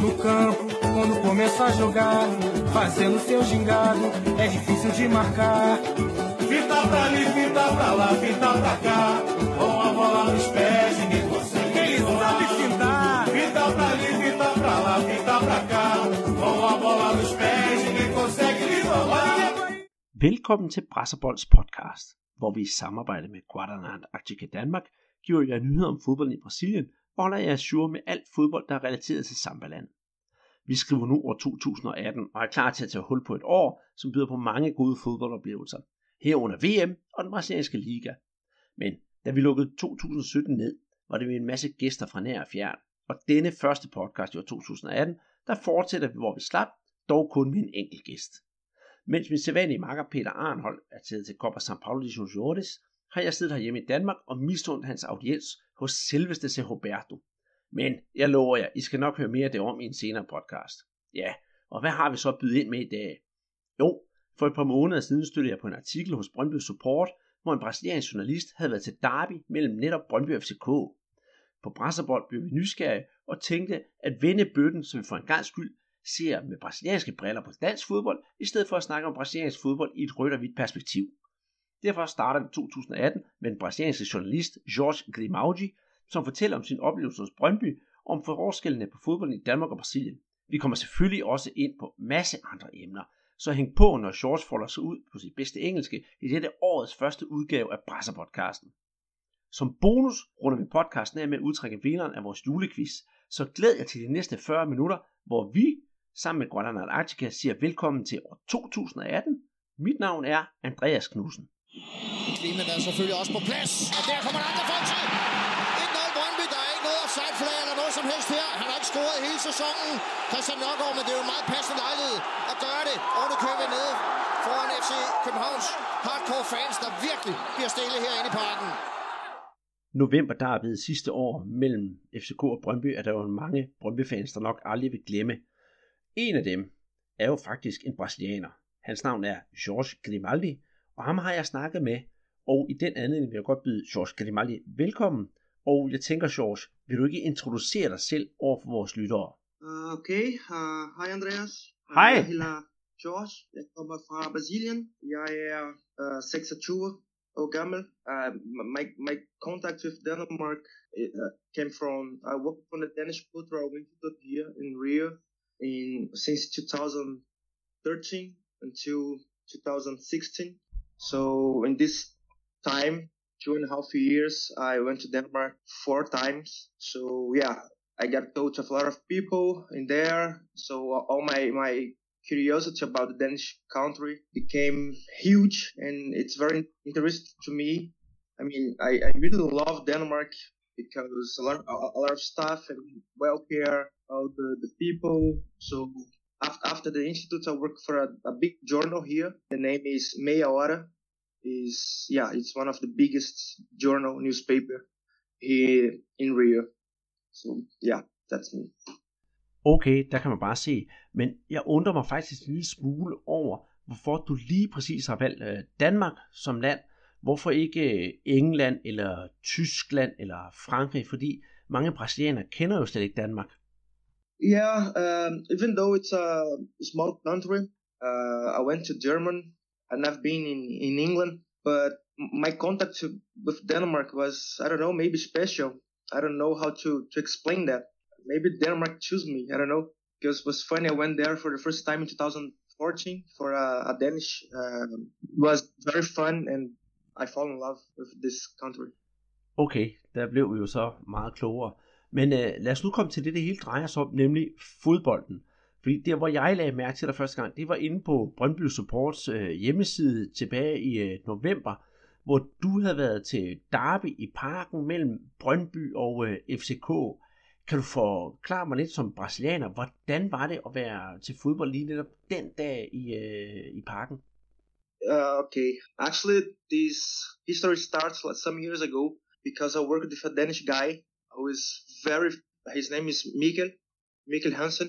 No campo, quando começa a jogar, fazendo seu gingado, é difícil de marcar. Fita pra ali, fita pra lá, fita pra cá, com a bola nos pés, ninguém consegue. Ele sabe fintar. Fita pra ali, fita pra lá, fita pra cá, com a bola nos pés, ninguém consegue lhe roubar. Velkommen til Brasserbolds podcast, hvor vi i samarbejde med Guadalajara Actica Danmark giver jer nyheder om fodbold i Brasilien og holder jer ajour med alt fodbold, der er relateret til Sambaland. Vi skriver nu år 2018 og er klar til at tage hul på et år, som byder på mange gode fodboldoplevelser, herunder VM og den brasilianske liga. Men da vi lukkede 2017 ned, var det med en masse gæster fra nær og fjern, og denne første podcast i år 2018, der fortsætter vi, hvor vi slap, dog kun med en enkelt gæst. Mens min sædvanlige makker Peter Arnhold er taget til Copa São Paulo de Juniores, har jeg siddet herhjemme i Danmark og misundt hans audiens hos selveste C. Roberto. Men jeg lover jer, I skal nok høre mere af det om i en senere podcast. Ja, og hvad har vi så bydet ind med i dag? Jo, for et par måneder siden støttede jeg på en artikel hos Brøndby Support, hvor en brasiliansk journalist havde været til derby mellem netop Brøndby og FCK. På Brasserbold blev vi nysgerrige og tænkte at vende bøtten, så vi for en gangs skyld ser med brasilianske briller på dansk fodbold, i stedet for at snakke om brasiliansk fodbold i et rødt og hvidt perspektiv. Derfor starter vi 2018 med den brasilianske journalist Jorge Grimaldi, som fortæller om sin oplevelse hos Brøndby og om forskellene på fodbolden i Danmark og Brasilien. Vi kommer selvfølgelig også ind på masse andre emner, så hæng på, når George folder sig ud på sit bedste engelske i dette årets første udgave af Brasserpodcasten. Som bonus runder vi podcasten af med at udtrække vinderen af vores julequiz, så glæd jer til de næste 40 minutter, hvor vi sammen med Guadalajara Actica siger velkommen til år 2018. Mit navn er Andreas Knudsen. Klimen er selvfølgelig også på plads, og der kommer der andre folk til. 1-0 Brøndby, der er ikke noget offside-flag eller noget som helst her. Han har ikke scoret hele sæsonen, Christian Nørgaard, men det er jo en meget passende lejlighed at gøre det. Og det kører vi ned foran FC Københavns hardcore fans, der virkelig bliver stille herinde i parken. November derved sidste år mellem FCK og Brøndby er der jo mange Brøndby-fans, der nok aldrig vil glemme. En af dem er jo faktisk en brasilianer. Hans navn er Jorge Grimaldi, og ham har jeg snakket med, og i den anledning vil jeg godt byde Jorge Grimaldi velkommen. Og jeg tænker, Jorge, vil du ikke introducere dig selv over for vores lyttere? Okay, hej Andreas. Hej. Jeg hedder Jorge, jeg kommer fra Brasilien. Jeg er 26 år gammel. My contact with Denmark came from, I worked for the Danish Cultural Institute here in Rio since 2013 until 2016. So in this time, 2.5 years, I went to Denmark 4 times. So yeah, I got to touch a lot of people in there. So all my curiosity about the Danish country became huge, and it's very interesting to me. I mean, I really love Denmark because a lot of stuff and welfare, all the people. So after the institute, I work for a big journal here. The name is Meia Hora. It's one of the biggest journal newspaper here in Rio. So yeah, that's me. Okay, der kan man bare se. Men jeg undrer mig faktisk en lille smule over, hvorfor du lige præcis har valgt Danmark som land. Hvorfor ikke England eller Tyskland eller Frankrig? Fordi mange brasilianere kender jo slet ikke Danmark. Yeah, even though it's a small country, I went to Germany. I've never been in England, but my contact with Denmark was, I don't know, maybe special. I don't know how to explain that. Maybe Denmark chose me, I don't know. Because it was funny, I went there for the first time in 2014 for a Danish. It was very fun, and I fell in love with this country. Okay, der blev vi jo så meget klogere. Men lad os nu komme til det hele drejer sig om, nemlig fodbolden. Fordi der, hvor jeg lagde mærke til dig første gang, det var inde på Brøndby Supports hjemmeside tilbage i november, hvor du havde været til derby i parken mellem Brøndby og FCK. Kan du forklare mig lidt som brasilianer, hvordan var det at være til fodbold lige netop den dag i parken? Okay, actually this history starts like some years ago because I worked with a Danish guy who is his name is Mikkel Hansen.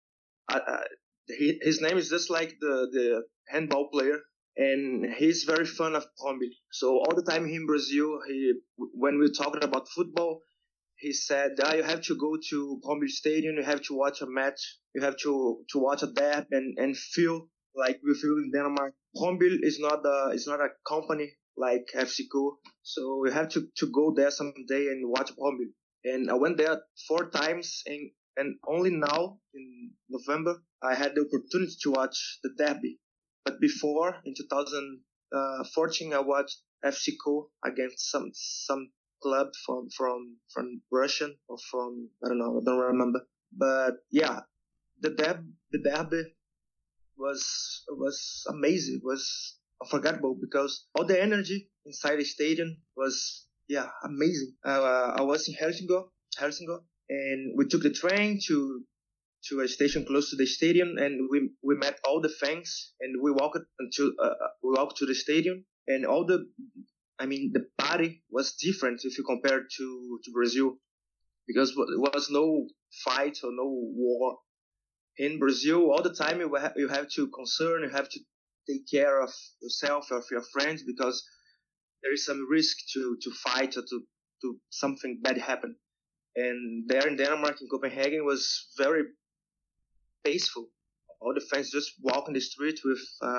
His name is just like the handball player, and he's very fond of Brøndby. So all the time in Brazil, when we talked about football, he said, you have to go to Brøndby Stadium, you have to watch a match, you have to watch a derby and feel like we feel in Denmark. Brøndby is not a company like FCK, so you have to go there someday and watch Brøndby. And I went there 4 times, and only now in November I had the opportunity to watch the derby. But before, in 2014, I watched FCK against some club from Russian or from, I don't know, I don't remember. But yeah, the derby was amazing. It was unforgettable because all the energy inside the stadium was amazing. I was in Helsingør, and we took the train to a station close to the stadium, and we met all the fans, and we walked to the stadium, and the party was different if you compare to Brazil, because there was no fight or no war. In Brazil, all the time you have to you have to take care of yourself or of your friends, because there is some risk to fight or to something bad happen. And there in Denmark, in Copenhagen, was very peaceful. All the fans just walk in the street with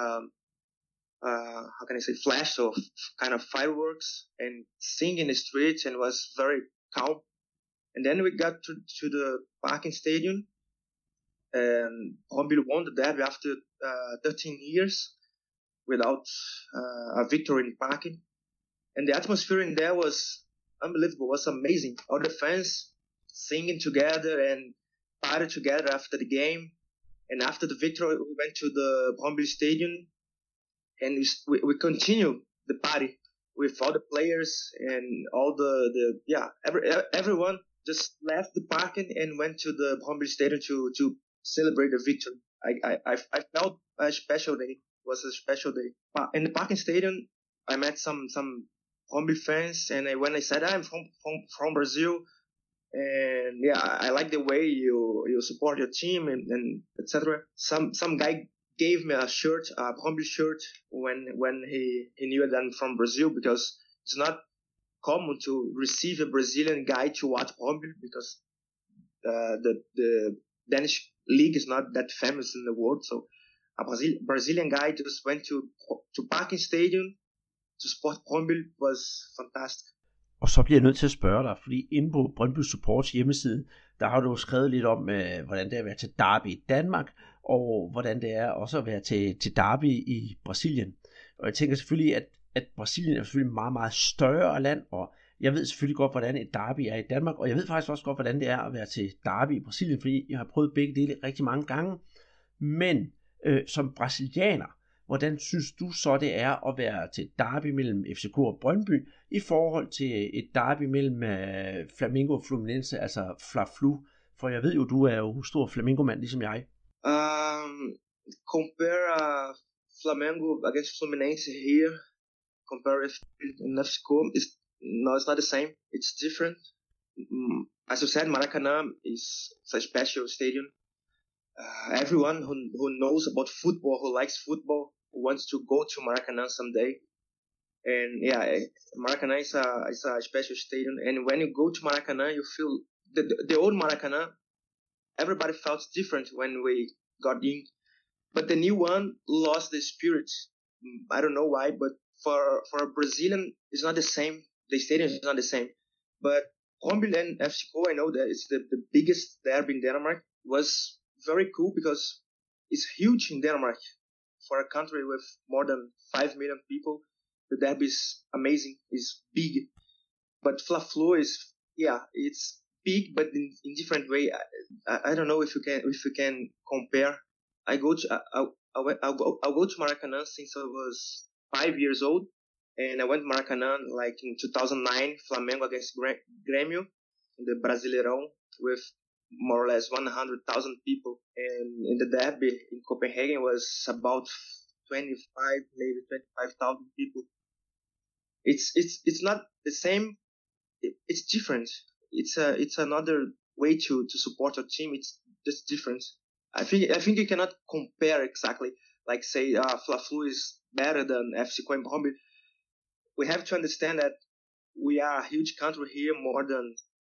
flash of kind of fireworks and sing in the streets, and was very calm. And then we got to the Parken Stadium, and Brøndby won the derby after 13 years without a victory in Parken. And the atmosphere in there was unbelievable, was amazing. All the fans singing together and party together after the game. And after the victory, we went to the Brøndby Stadium, and we continued the party with all the players and all everyone just left the parking and went to the Brøndby Stadium to celebrate the victory. I felt a special day. It was a special day. In the Parken Stadium, I met some Brøndby fans, and when I said I'm from Brazil, and I like the way you support your team and etc. Some guy gave me a shirt, a Brøndby shirt, when he knew that I'm from Brazil, because it's not common to receive a Brazilian guy to watch Brøndby, because the Danish league is not that famous in the world. So a Brazilian guy just went to Parken Stadium to support Brøndby. Was fantastic. Og så bliver jeg nødt til at spørge dig, fordi inde på Brøndby Supports hjemmeside, der har du skrevet lidt om, hvordan det er at være til derby i Danmark, og hvordan det er også at være til derby i Brasilien. Og jeg tænker selvfølgelig, at Brasilien er selvfølgelig meget, meget større land, og jeg ved selvfølgelig godt, hvordan et derby er i Danmark, og jeg ved faktisk også godt, hvordan det er at være til derby i Brasilien, fordi jeg har prøvet begge dele rigtig mange gange. Men som brasilianer, hvordan synes du så, det er at være til derby mellem FCK og Brøndby, i forhold til et derby mellem Flamengo og Fluminense, altså Fla-Flu? For jeg ved jo, du er jo stor Flamengo-mand, ligesom jeg. Compare Flamengo against Fluminense here, compare it in FCK, it's not the same. It's different. As you said, Maracanã is a special stadium. Everyone who knows about football, who likes football, wants to go to Maracanã someday. And Maracanã is a special stadium. And when you go to Maracanã, you feel the old Maracanã. Everybody felt different when we got in, but the new one lost the spirit. I don't know why, but for a Brazilian, it's not the same. The stadium is not the same. But Brøndby and FCK, I know that it's the biggest derby in Denmark. It was very cool because it's huge in Denmark. For a country with more than 5 million people, the derby is amazing. It's big. But Fla-Flu is, it's big, but in different way. I don't know if you can compare. I'll go to Maracanã since I was 5 years old, and I went to Maracanã like in 2009, Flamengo against Grêmio in the Brasileirão with more or less 100,000 people, and in the derby in Copenhagen was about 25,000 people. It's not the same. It's different. It's another way to support your team. It's just different. I think you cannot compare exactly. Like say Fla-Flu is better than FCK and Brøndby. We have to understand that we are a huge country here, more than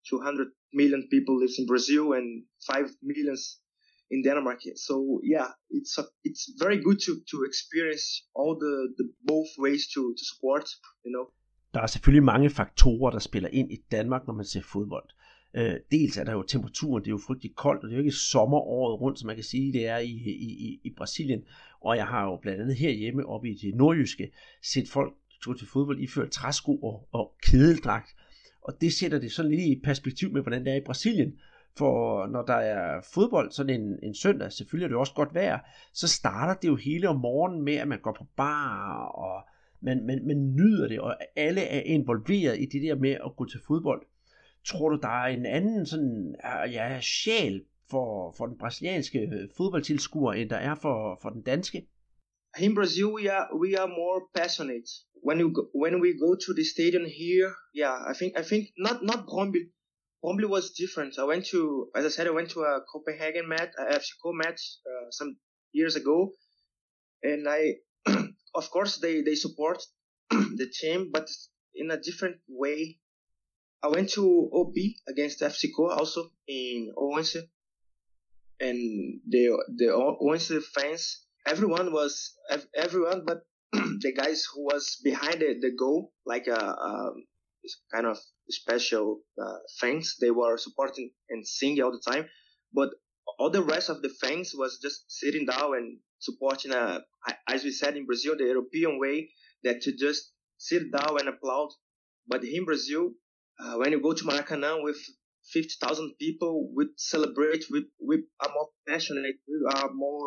200 million people lives in Brazil and 5 millions in Denmark. So yeah, it's very good to experience all the both ways to support, you know. Der er selvfølgelig mange faktorer, der spiller ind i Danmark, når man ser fodbold. Dels er der jo temperaturen, det er jo frygtelig koldt, og det er jo ikke sommeråret rundt, som man kan sige, det er i Brasilien. Og jeg har jo blandt andet herhjemme oppe i det nordjyske set folk gå til fodbold iført træsko og kedeldragt. Og det sætter det sådan lidt i perspektiv med, hvordan det er i Brasilien. For når der er fodbold sådan en søndag, selvfølgelig er det også godt vejr, så starter det jo hele om morgenen med, at man går på bar, og man nyder det, og alle er involveret i det der med at gå til fodbold. Tror du, der er en anden sådan, sjæl for den brasilianske fodboldtilskuer, end der er for den danske? In Brazil, we are more passionate. When we go to the stadium here, I think not Brøndby. Brøndby was different. As I said, I went to a Copenhagen match, a FCK match some years ago, and of course they support the team, but in a different way. I went to OB against FCK also in Odense, and the Odense fans, everyone, but the guys who was behind the goal, like kind of special fans, they were supporting and singing all the time, but all the rest of the fans was just sitting down and supporting, as we said in Brazil, the European way, that to just sit down and applaud. But in Brazil, when you go to Maracanã with 50,000 people, we celebrate, we are more passionate, we are more,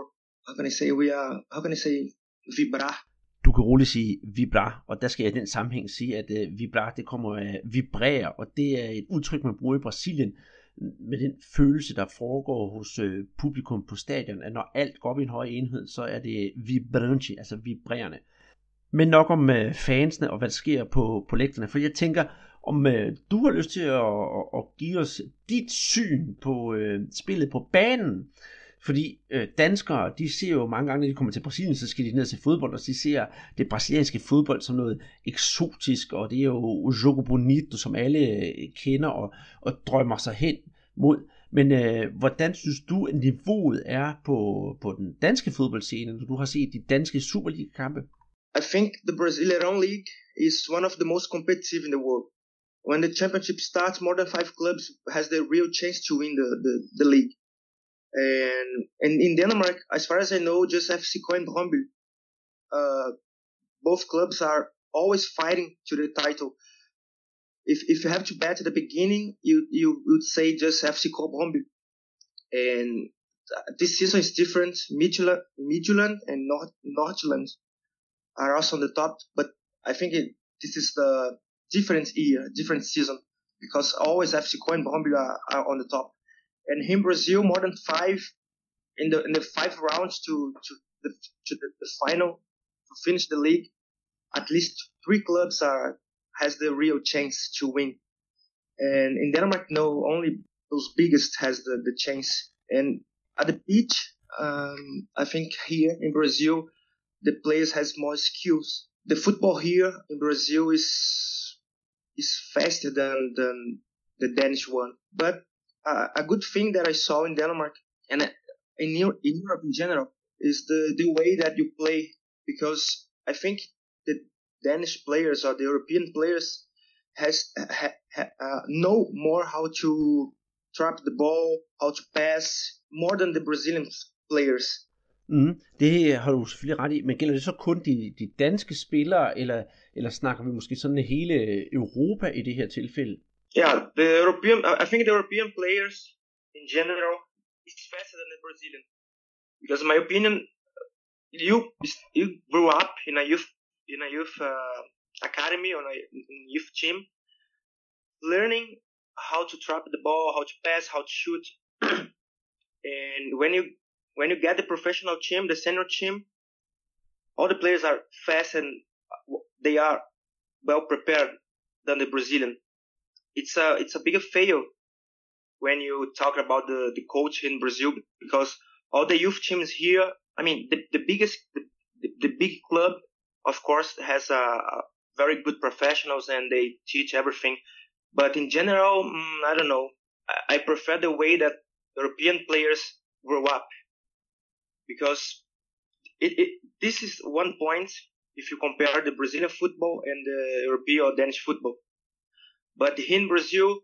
vibrar. Du kan roligt sige vibrar, og der skal jeg i den sammenhæng sige, at vibrar, det kommer af vibrere, og det er et udtryk, man bruger i Brasilien, med den følelse, der foregår hos publikum på stadion, at når alt går op i en høj enhed, så er det vibrante, altså vibrerende. Men nok om fansene og hvad der sker på lægterne, for jeg tænker, om du har lyst til at give os dit syn på spillet på banen. Fordi danskere, de ser jo mange gange, når de kommer til Brasilien, så skal de ned til fodbold, og de ser det brasilianske fodbold som noget eksotisk, og det er jo jogo bonito, som alle kender og drømmer sig hen mod. Men hvordan synes du, at niveauet er på den danske fodboldscene, når du har set de danske Superliga-kampe? I think the Brazilian League is one of the most competitive in the world. When the championship starts, more than 5 clubs has the real chance to win the league. And in Denmark, as far as I know, just FCK and Brøndby, both clubs are always fighting to the title. If you have to bet at the beginning, you would say just FCK Brøndby. And this season is different. Midtjylland and Nordjylland are also on the top, but I think this is the different year, different season, because always FCK and Brøndby are on the top. And in Brazil, more than 5 in the 5 rounds to the final to finish the league, at least 3 clubs has the real chance to win. And in Denmark, no, only those biggest has the chance. And at the pitch, I think here in Brazil, the players has more skills. The football here in Brazil is faster than the Danish one. But a good thing that I saw in Denmark and in Europe in general is the way that you play, because I think the Danish players or the European players know more how to trap the ball, how to pass, more than the Brazilian players. Det har du selvfølgelig ret i, men gælder det så kun de danske spillere, eller snakker vi måske sådan hele Europa i det her tilfælde? Yeah, I think the European players in general is faster than the Brazilian, because in my opinion, you grew up in a youth academy or a youth team, learning how to trap the ball, how to pass, how to shoot, and when you get the professional team, the senior team, all the players are fast and they are well prepared than the Brazilian. It's a bigger fail when you talk about the coach in Brazil, because all the youth teams here, I mean, the big club, of course, has a very good professionals and they teach everything. But in general, I don't know. I prefer the way that European players grow up, because this is one point if you compare the Brazilian football and the European or Danish football. But here in Brazil,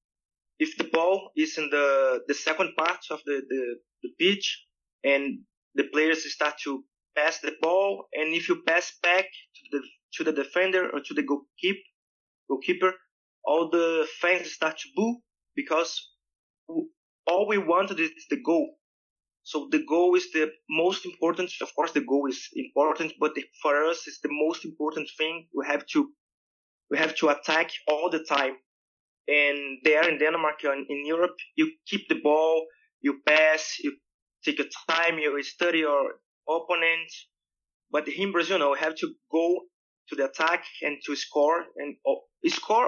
if the ball is in the second part of the pitch and the players start to pass the ball, and if you pass back to the defender or to the goalkeeper, all the fans start to boo, because all we wanted is the goal. So the goal is the most important. Of course, the goal is important, but for us, it's the most important thing. We have to attack all the time. And there in Denmark and in Europe, you keep the ball, you pass, you take your time, you study your opponent. But here in Brazil, we have to go to the attack and to score, and score.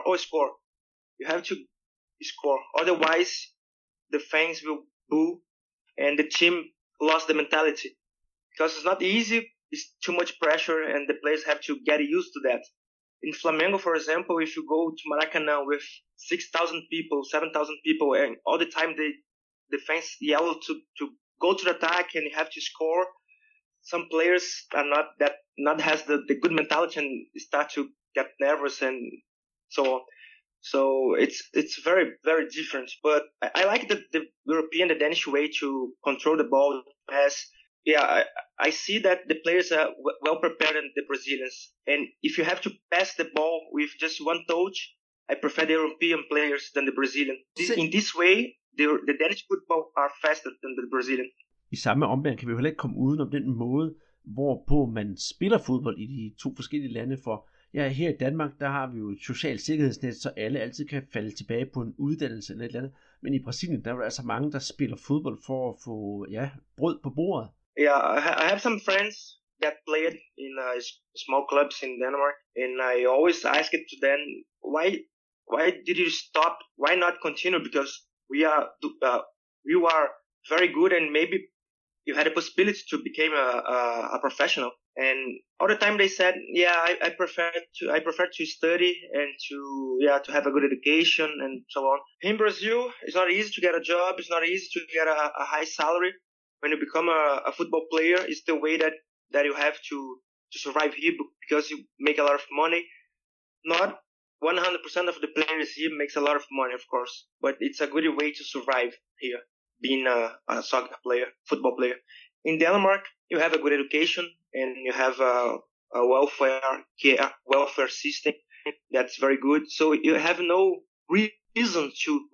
You have to score. Otherwise, the fans will boo, and the team lost the mentality, because it's not easy. It's too much pressure, and the players have to get used to that. In Flamengo, for example, if you go to Maracanã with 6,000 people, 7,000 people, and all the time the fans yell to go to the attack and you have to score, some players are not has the good mentality and start to get nervous and so on. So it's very, very different. But I like the European, the Danish way to control the ball, pass. Yeah, I see that the players are well prepared than the Brazilians. And if you have to pass the ball with just one touch, I prefer the European players than the Brazilian. In this way, the Danish football are faster than the Brazilian. I samme ombæring kan vi jo heller ikke komme uden om den måde, hvorpå man spiller fodbold i de to forskellige lande. For ja, her i Danmark, der har vi jo et socialt sikkerhedsnet, så alle altid kan falde tilbage på en uddannelse eller et eller andet. Men i Brasilien, der er der altså mange, der spiller fodbold for at få brød på bordet. Yeah, I have some friends that played in small clubs in Denmark, and I always ask it to them, why did you stop? Why not continue? Because you are very good, and maybe you had a possibility to become a professional. And all the time they said, I prefer to study and to have a good education and so on. In Brazil, it's not easy to get a job. It's not easy to get a high salary. When you become a football player, it's the way that you have to survive here, because you make a lot of money. Not 100% of the players here makes a lot of money, of course, but it's a good way to survive here, being a soccer player, football player. In Denmark, you have a good education and you have a welfare system that's very good. So you have no reason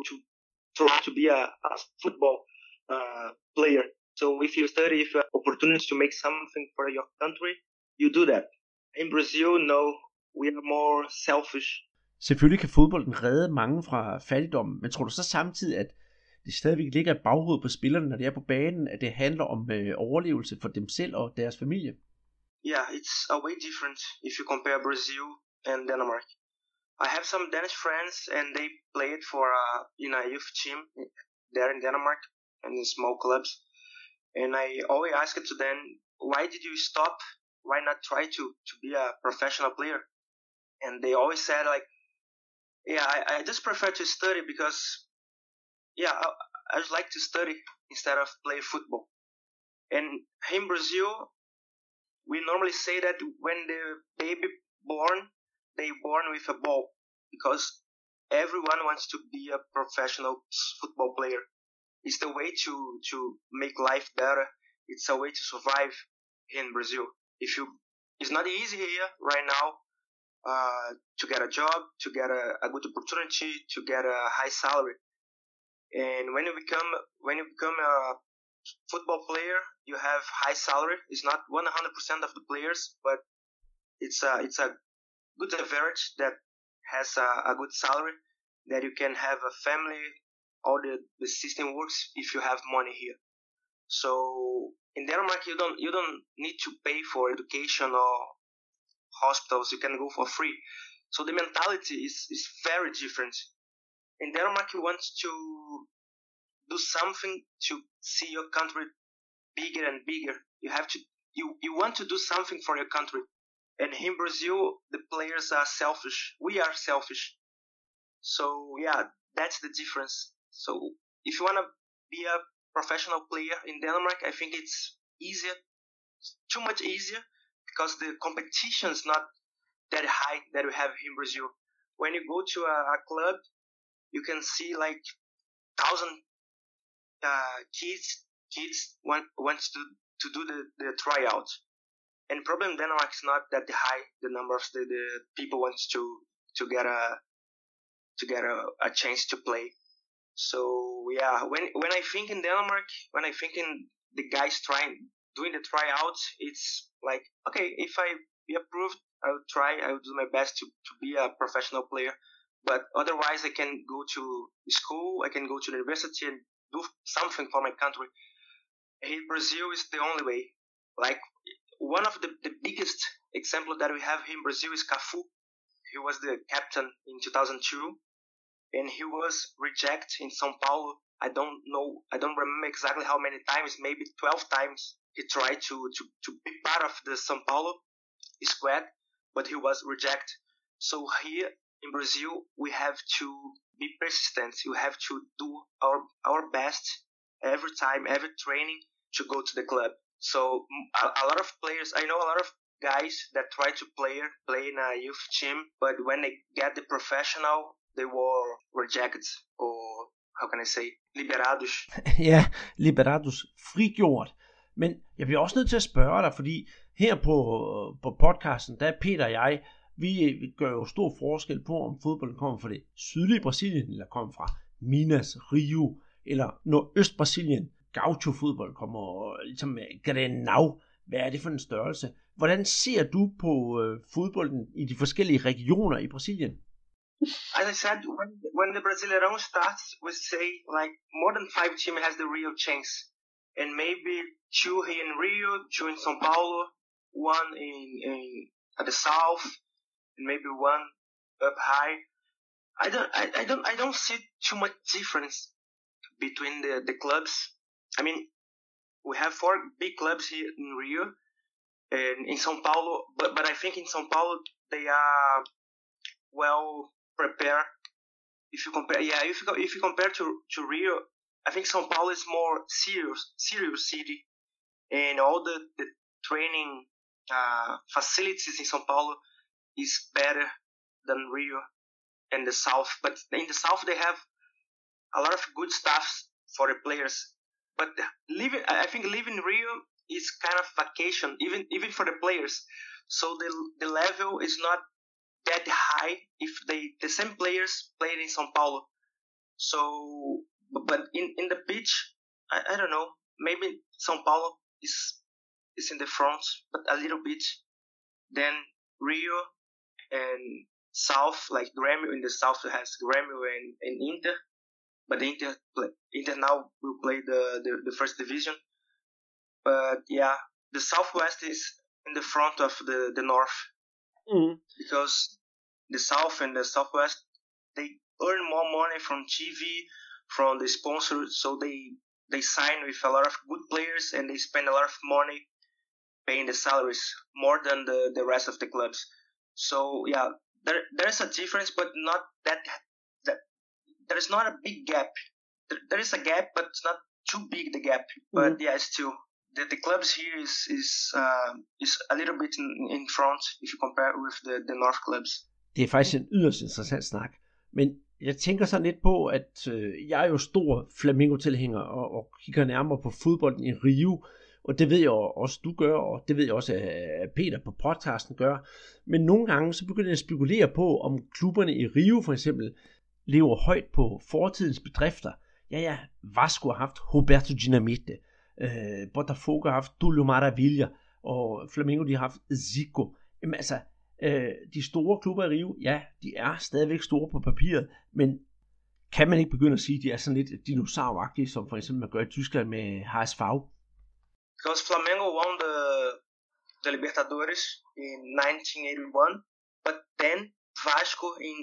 to be a football player. So if you study, if you have opportunities to make something for your country, you do that. In Brazil, no, we are more selfish. Selvfølgelig kan fodbolden redde mange fra fattigdom, men tror du så samtidig, at det stadigvæk ligger et baghoved på spillerne, når de er på banen, at det handler om overlevelse for dem selv og deres familie? Yeah, it's a way different if you compare Brazil and Denmark. I have some Danish friends, and they played for in a youth team there in Denmark and in small clubs. And I always ask it to them, why did you stop? Why not try to be a professional player? And they always said I just prefer to study because I just like to study instead of play football. And in Brazil, we normally say that when the baby born, they born with a ball, because everyone wants to be a professional football player. It's the way to make life better. It's a way to survive in Brazil. It's not easy here right now to get a job, to get a good opportunity, to get a high salary. And when you become a football player, you have high salary. It's not 100% of the players, but it's a good average that has a good salary, that you can have a family. All the system works if you have money here. So in Denmark, you don't need to pay for education or hospitals. You can go for free. So the mentality is very different. In Denmark, you want to do something to see your country bigger and bigger. You want to do something for your country. And in Brazil, the players are selfish. We are selfish. So yeah, that's the difference. So if you want to be a professional player in Denmark, I think it's easier, too much easier, because the competition is not that high that we have in Brazil. When you go to a club, you can see like 1,000 kids wants to do the tryout, and problem in Denmark is not that high. The number of the people wants to get a chance to play. So yeah, when I think in Denmark, when I think in the guys doing the tryouts, it's like, okay, if I be approved, I will do my best to be a professional player. But otherwise, I can go to school, I can go to the university and do something for my country. Here, Brazil is the only way. Like, one of the biggest example that we have here in Brazil is Cafu. He was the captain in 2002, and he was rejected in São Paulo. I don't remember exactly how many times, maybe 12 times he tried to be part of the São Paulo squad, but he was rejected. So here in Brazil, we have to be persistent. We have to do our best every time, every training, to go to the club. So a lot of players, I know a lot of guys that try to play in a youth team, but when they get the professional, they were rejected, or how can I say, liberados. Ja, liberados, frigjort. Men jeg bliver også nødt til at spørge dig, fordi her på podcasten, der er Peter og jeg, vi gør jo stor forskel på, om fodbolden kommer fra det sydlige Brasilien, eller kommer fra Minas, Rio, eller Nordøst-Brasilien. Gaucho-fodbold kommer ligesom Grenau. Hvad er det for en størrelse? Hvordan ser du på fodbolden i de forskellige regioner i Brasilien? As I said, when the Brasileirão starts, we say like more than 5 teams has the real chance, and maybe 2 here in Rio, 2 in São Paulo, 1 in at the south, and maybe 1 up high. I don't see too much difference between the clubs. I mean, we have 4 big clubs here in Rio and in São Paulo, but I think in São Paulo they are well prepared. If you compare to Rio, I think São Paulo is more serious city, and all the training facilities in São Paulo is better than Rio and the south. But in the south they have a lot of good stuff for the players. But I think living in Rio is kind of vacation, even for the players. So the level is not that high if the same players played in São Paulo. So, but in the pitch, I don't know. Maybe São Paulo is in the front, but a little bit. Then Rio and South, like Grêmio in the South has Grêmio and Inter. But Inter now will play the first division. But yeah, the Southwest is in the front of the North. Mm-hmm. Because the South and the Southwest, they earn more money from TV, from the sponsors, so they sign with a lot of good players and they spend a lot of money paying the salaries, more than the rest of the clubs. So yeah, there's a difference, but not that there is not a big gap. There is a gap, but it's not too big, the gap. But yeah, still the clubs here is a little bit in front if you compare with the North clubs. Det er faktisk en yderst interessant snak. Men jeg tænker så lidt på, at jeg er jo stor Flamengo-tilhænger og kigger nærmere på fodbolden i Rio. Og det ved jeg også, du gør, og det ved jeg også, at Peter på podcasten gør. Men nogle gange så begynder jeg at spekulere på, om klubberne i Rio for eksempel lever højt på fortidens bedrifter. Ja, Vasco har haft Roberto Dinamite, Botafogo har haft Túlio Maravilha, og Flamengo de har haft Zico. Jamen altså, de store klubber i Rio, ja, de er stadigvæk store på papiret, men kan man ikke begynde at sige, at de er sådan lidt dinosauragtige, som for eksempel man gør i Tyskland med HSV? Because Flamengo won the Libertadores in 1981, but then Vasco in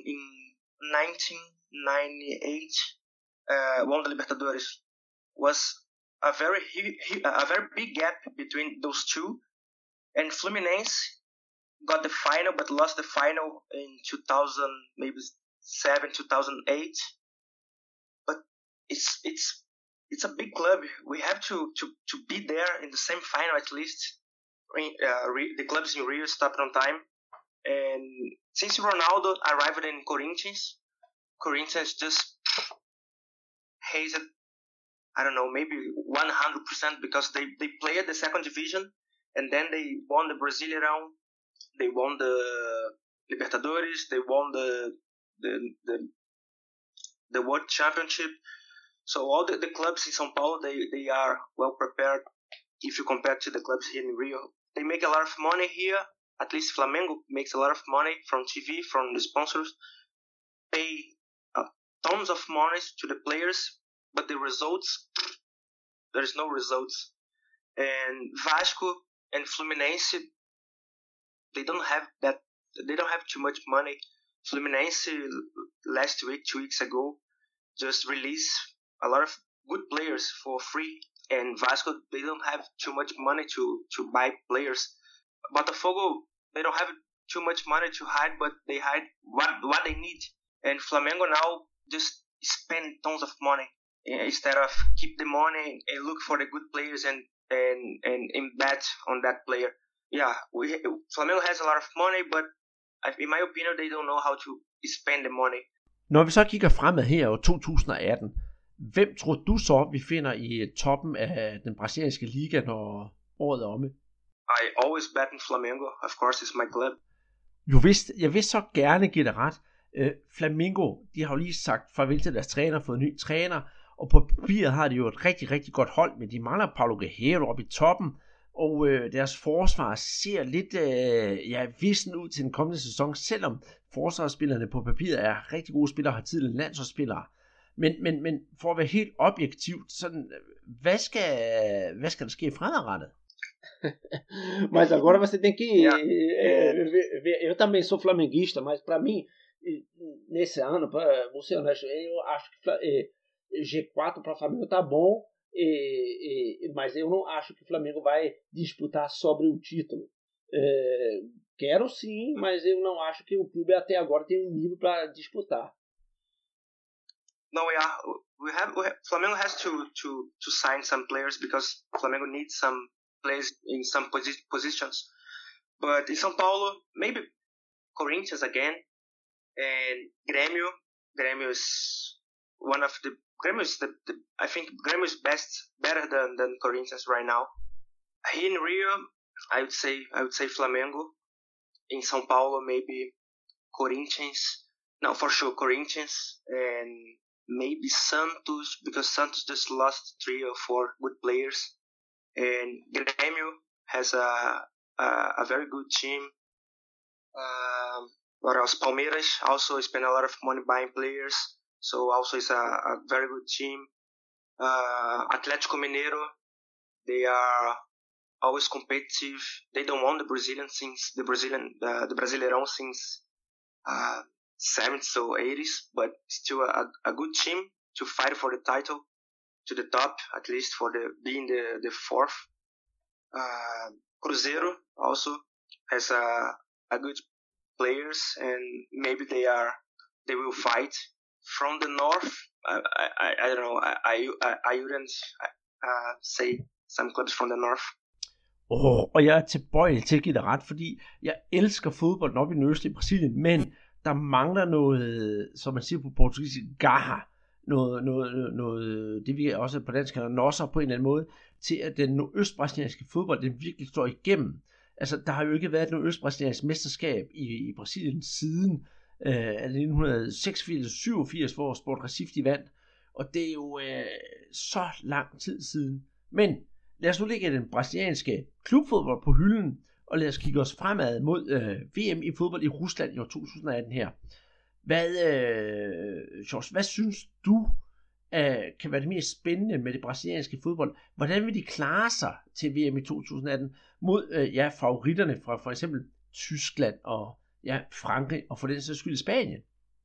1998 won the Libertadores. Was a very big gap between those two, and Fluminense got the final but lost the final in 2000, maybe 2007, 2008. But it's a big club. We have to be there in the same final at least. The clubs in Rio stopped on time. And since Ronaldo arrived in Corinthians just hazed, I don't know, maybe 100% because they played the second division and then they won the Brasileirão, they won the Libertadores, they won the World Championship. So all the clubs in São Paulo, they are well prepared if you compare to the clubs here in Rio. They make a lot of money here. At least Flamengo makes a lot of money from TV, from the sponsors. Pay tons of money to the players, but the results, there's no results. And Vasco and Fluminense, they don't have too much money. Fluminense last week, 2 weeks ago, just released a lot of good players for free. And Vasco, they don't have too much money to buy players. Botafogo, they don't have too much money to hide, but they hide what they need. And Flamengo now just spend tons of money instead of keep the money and look for the good players and bet on that player. Yeah, Flamengo has a lot of money, but in my opinion, they don't know how to spend the money. Når vi så kigger fremad her over 2018, hvem tror du så, vi finder i toppen af den brasilianske liga, når året er omme? I always bet in Flamengo. Of course, it's my club. Jeg vil så gerne give dig ret. Flamengo, de har jo lige sagt farvel til deres træner, fået en ny træner, og på papiret har de jo et rigtig, rigtig godt hold, men de mangler Paulo Guerreiro oppe i toppen, og deres forsvar ser lidt vissen ud til den kommende sæson, selvom forsvarsspillerne på papiret er rigtig gode spillere, har tidligere landsholdsspillere. Men for at være helt objektivt, sådan, hvad skal der ske fremadrettet? Mas agora você tem que ver. Eu também sou flamenguista, mas para mim, nesse ano, vou ser honesto, eu acho que G4 para o Flamengo tá bom, mas eu não acho que o Flamengo vai disputar sobre o título. Quero sim, mas eu não acho que o clube até agora tem um nível para disputar. No, yeah, Flamengo has to sign some players because Flamengo needs some players in some positions. But in São Paulo, maybe Corinthians again, and Grêmio is one of the I think Grêmio is better than Corinthians right now. Here in Rio, I would say Flamengo. In São Paulo, maybe Corinthians. No, for sure Corinthians, and maybe Santos, because Santos just lost 3 or 4 good players. And Grêmio has a very good team. What else? Palmeiras also spend a lot of money buying players, so also is a very good team. Atlético Mineiro, they are always competitive. They don't want the Brasileirão since 70s or 80s, but still a good team to fight for the title, to the top, at least for being the fourth. Cruzeiro also has a good players, and maybe they will fight. From the north, I don't know. I wouldn't say some clubs from the north. Og jeg er tilbøjelig til at give dig ret, fordi jeg elsker fodbold op i den østlige Brasilien, men der mangler noget, som man siger på portugisisk, garra. Noget, det vi også på dansk kalder nosser på en eller anden måde, til at den nordøstbrasilianske fodbold, den virkelig står igennem. Altså, der har jo ikke været et nordøstbrasiliansk mesterskab i Brasilien siden 1986-87, hvor Sport Recife de vandt, og det er jo så lang tid siden. Men lad os nu lægge den brasilianske klubfodbold på hylden, og lad os kigge os fremad mod VM i fodbold i Rusland i år 2018 her. Hvad synes du kan være det mest spændende med det brasilianske fodbold? Hvordan vil de klare sig til VM i 2018 mod favoritterne fra for eksempel Tyskland og Frankrig og for den sags skyld Spanien?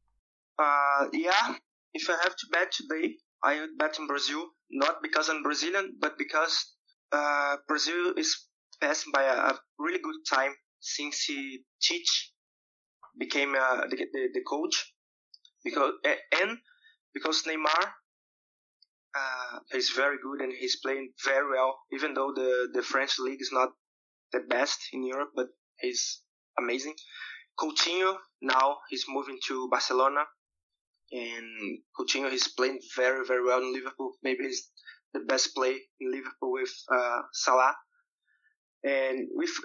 If I have to bet today, I would bet in Brazil, not because I'm Brazilian, but because Brazil is passing by a really good time since Tite became the coach. because Neymar is very good and he's playing very well, even though the French league is not the best in Europe, but he's amazing. Coutinho, now he's moving to Barcelona, and Coutinho is playing very, very well in Liverpool. Maybe he's the best play in Liverpool with Salah. And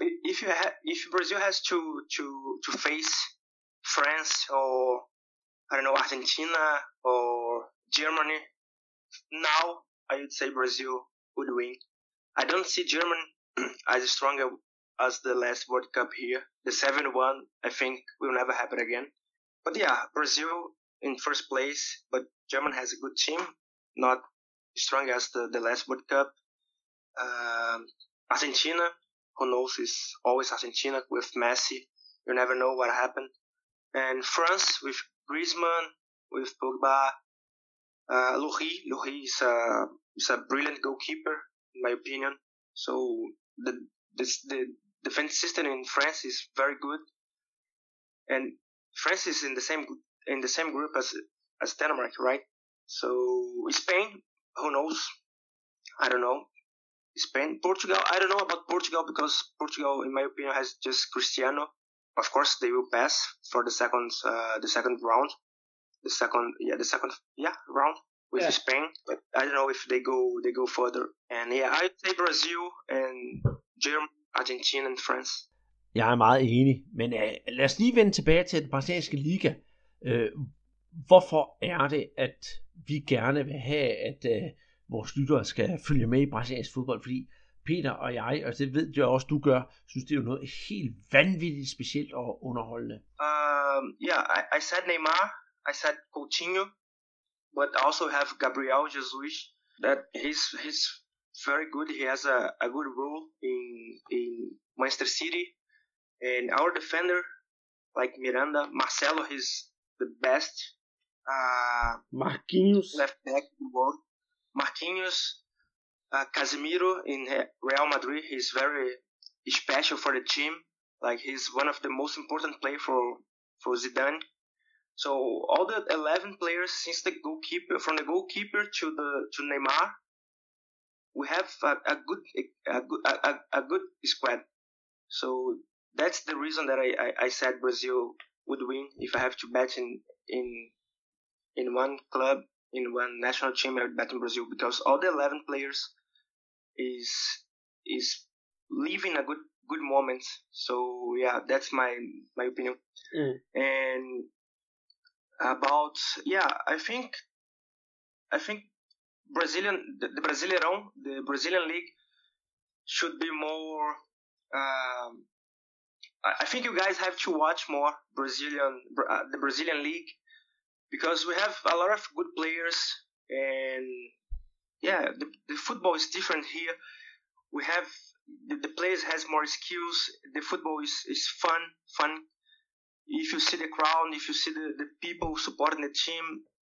if Brazil has to face France or I don't know, Argentina or Germany, now I would say Brazil would win. I don't see Germany as strong as the last World Cup here. The 7-1, I think, will never happen again. But yeah, Brazil in first place, but Germany has a good team, not strong as the last World Cup. Argentina, who knows, is always Argentina with Messi. You never know what happened. And France with Griezmann, with Pogba, Lloris is a brilliant goalkeeper, in my opinion. So the defense system in France is very good, and France is in the same group as Denmark, right? So Spain, who knows? I don't know. Spain, Portugal. I don't know about Portugal because Portugal, in my opinion, has just Cristiano. Of course, they will pass for the second round. The second round with Spain, but I don't know if they go further. And yeah, I'd say Brazil and Germany, Argentina and France. Jeg er meget enig, men lad os lige vende tilbage til den brasilianske liga. Hvorfor er det, at vi gerne vil have, at vores lyttere skal følge med i brasiliansk fodbold? Fordi Peter og jeg, og det ved jeg også, du gør, synes det er jo noget helt vanvittigt specielt og underholdende. I said Neymar, I said Coutinho, but also have Gabriel Jesus. That he's very good. He has a good role in Manchester City. And our defender, like Miranda, Marcelo, he's the best. Marquinhos, left back in the world. Marquinhos, Casemiro in Real Madrid. He's very special for the team. Like he's one of the most important players for Zidane. So all the 11 players, since the goalkeeper, from the goalkeeper to Neymar, we have a good squad. So that's the reason that I said Brazil would win. If I have to bet in one club, in one national team, I would bet in Brazil because all the 11 players is living a good moment. So yeah, that's my opinion. And about I think the Brazilian league should be more. I think you guys have to watch more the Brazilian league because we have a lot of good players and the football is different here. We have the players has more skills. The football is fun. If you see the crowd, if you see the people supporting the team,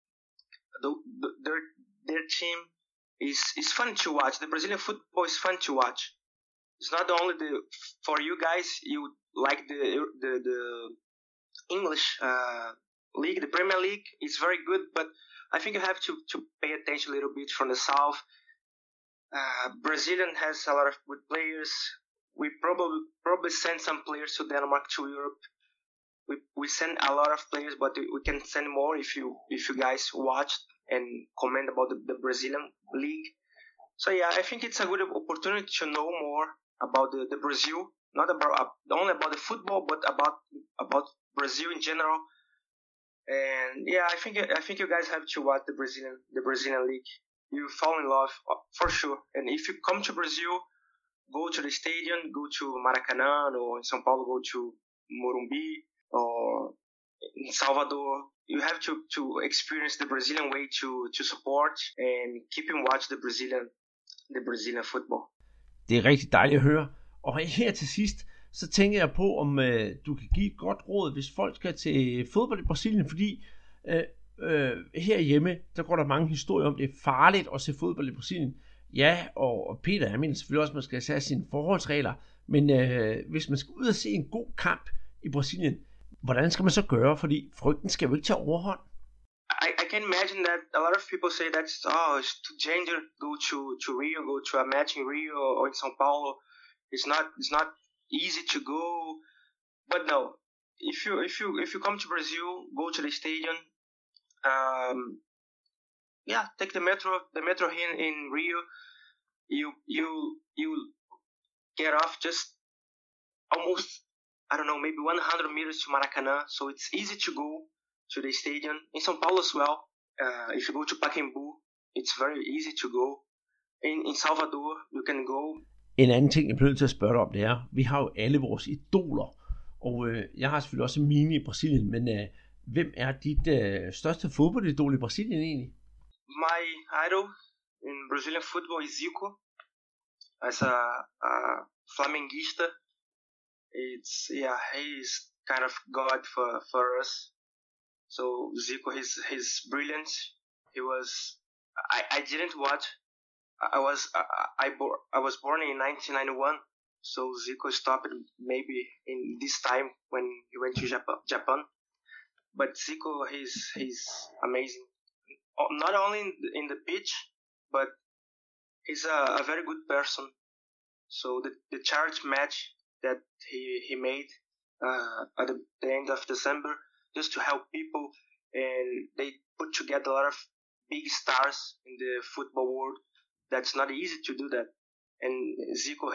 their team is fun to watch. The Brazilian football is fun to watch. It's not only for you guys. You like the English league, the Premier League is very good, but I think you have to pay attention a little bit from the south. Brazilian has a lot of good players. We probably send some players to Denmark, to Europe. We send a lot of players, but we can send more if you guys watched and comment about the Brazilian league. So yeah, I think it's a good opportunity to know more about the Brazil, not only about the football, but about Brazil in general. And yeah, I think you guys have to watch the Brazilian league. You fall in love for sure. And if you come to Brazil, go to the stadium, go to Maracanã, or in São Paulo, go to Morumbi, or in Salvador. You have to experience the Brazilian way to support and keep and watch the Brazilian football. Det er rigtig dejligt at høre. Og her til sidst, så tænker jeg på, om du kan give et godt råd, hvis folk skal til fodbold i Brasilien, fordi herhjemme, der går der mange historier om, det er farligt at se fodbold i Brasilien. Ja, og Peter, jeg mener selvfølgelig også, at man skal have sine forholdsregler, men hvis man skal ud og se en god kamp i Brasilien, hvordan skal man så gøre? Fordi frygten skal jo ikke tage overhånd. can imagine that a lot of people say it's too dangerous to Rio, go to a match in Rio or in São Paulo. It's not easy to go, but no. If you come to Brazil, go to the stadium. Take the metro here in Rio. You get off just almost, I don't know, maybe 100 meters to Maracanã, so it's easy to go to the stadium. In São Paulo as well, if you go to Pacaembu, it's very easy to go. In Salvador, you can go. En anden ting, jeg bliver nødt til at spørge dig om, det er, vi har jo alle vores idoler, og jeg har selvfølgelig også mine i Brasilien, men hvem er dit største fodboldidol i Brasilien egentlig? My idol in Brazilian football is Zico. As a Flamenguista, he's kind of God for us. So Zico, his brilliance. He was. I didn't watch. I was born in 1991. So Zico stopped maybe in this time when he went to Japan. But Zico, he's amazing. Not only in the pitch, but he's a very good person. So the charge match that he made at the end of December, just to help people, and they put together a lot of big stars in the football world. That's not easy to do that. And Zico,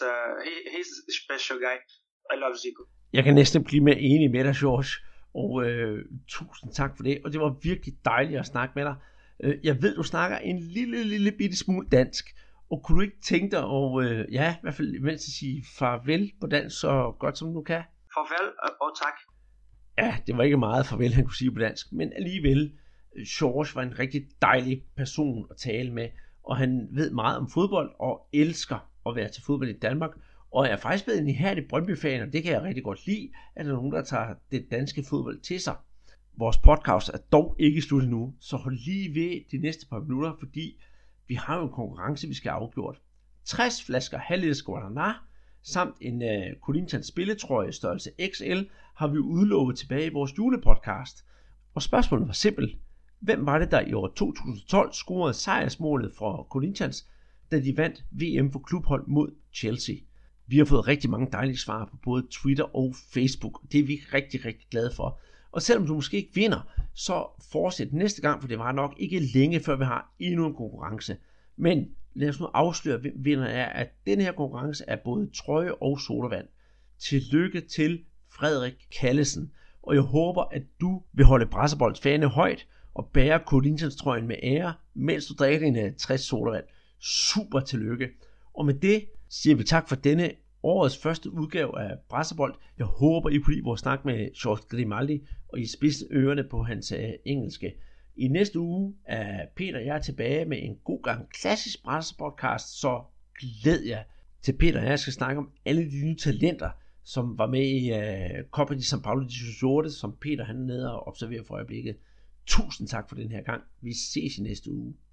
he's a special guy. I love Zico. Jeg kan næsten blive mere enig med dig, George, og tusind tak for det, og det var virkelig dejligt at snakke med dig. Jeg ved, du snakker en lille bitte smule dansk, og kunne du ikke tænke dig at, i hvert fald mens at sige farvel på dansk så godt som du kan? Farvel og tak. Ja, det var ikke meget farvel, han kunne sige på dansk, men alligevel, George var en rigtig dejlig person at tale med, og han ved meget om fodbold og elsker at være til fodbold i Danmark, og jeg er faktisk blevet en ihærdig Brøndby-fan, og det kan jeg rigtig godt lide, at der er nogen, der tager det danske fodbold til sig. Vores podcast er dog ikke slut endnu, så hold lige ved de næste par minutter, fordi vi har jo en konkurrence, vi skal have afgjort. 60 flasker halvliters Guaraná, samt en Corinthians spilletrøje størrelse XL, har vi udlovet tilbage i vores julepodcast. Og spørgsmålet var simpelt. Hvem var det, der i år 2012 scorede sejrsmålet for Corinthians, da de vandt VM for klubhold mod Chelsea? Vi har fået rigtig mange dejlige svar på både Twitter og Facebook. Det er vi rigtig, rigtig glade for. Og selvom du måske ikke vinder, så fortsæt næste gang, for det var nok ikke længe, før vi har endnu en konkurrence. Men lad os nu afsløre, hvem vinder er, at denne her konkurrence er både trøje og sodavand. Tillykke til Frederik Kallesen. Og jeg håber, at du vil holde Brasserbolds fane højt og bære Corinthians trøjen med ære, mens du drikker din 60 sodavand. Super tillykke. Og med det siger vi tak for denne årets første udgave af Brasserbold. Jeg håber, I kunne lide vores snak med George Grimaldi, og I spidse ørerne på hans engelske. I næste uge er Peter og jeg tilbage med en god gang klassisk Brasserboldcast, så glæd jer til Peter og jeg skal snakke om alle de nye talenter, som var med i Copa de São Paulo de 2018, som Peter han er nede og observerer for øjeblikket. Tusind tak for den her gang. Vi ses i næste uge.